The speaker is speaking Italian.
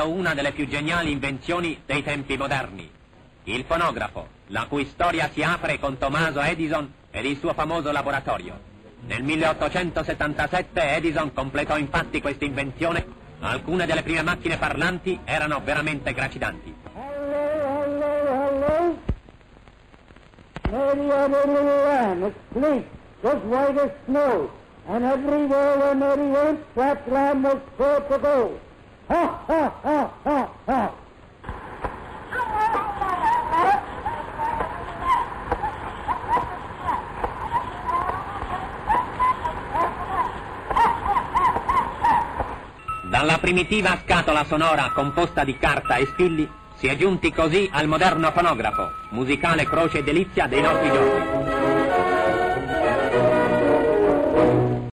una delle più geniali invenzioni dei tempi moderni. Il fonografo, la cui storia si apre con Tommaso Edison ed il suo famoso laboratorio. Nel 1877 Edison completò infatti questa invenzione. Alcune delle prime macchine parlanti erano veramente gracidanti. Mary had a little lamb asleep, just white as snow, and everywhere where Mary went, that lamb was sure to go. Ha, ha, ha, ha, ha. Dalla primitiva scatola sonora composta di carta e spilli si è giunti così al moderno fonografo, musicale croce e delizia dei nostri giorni.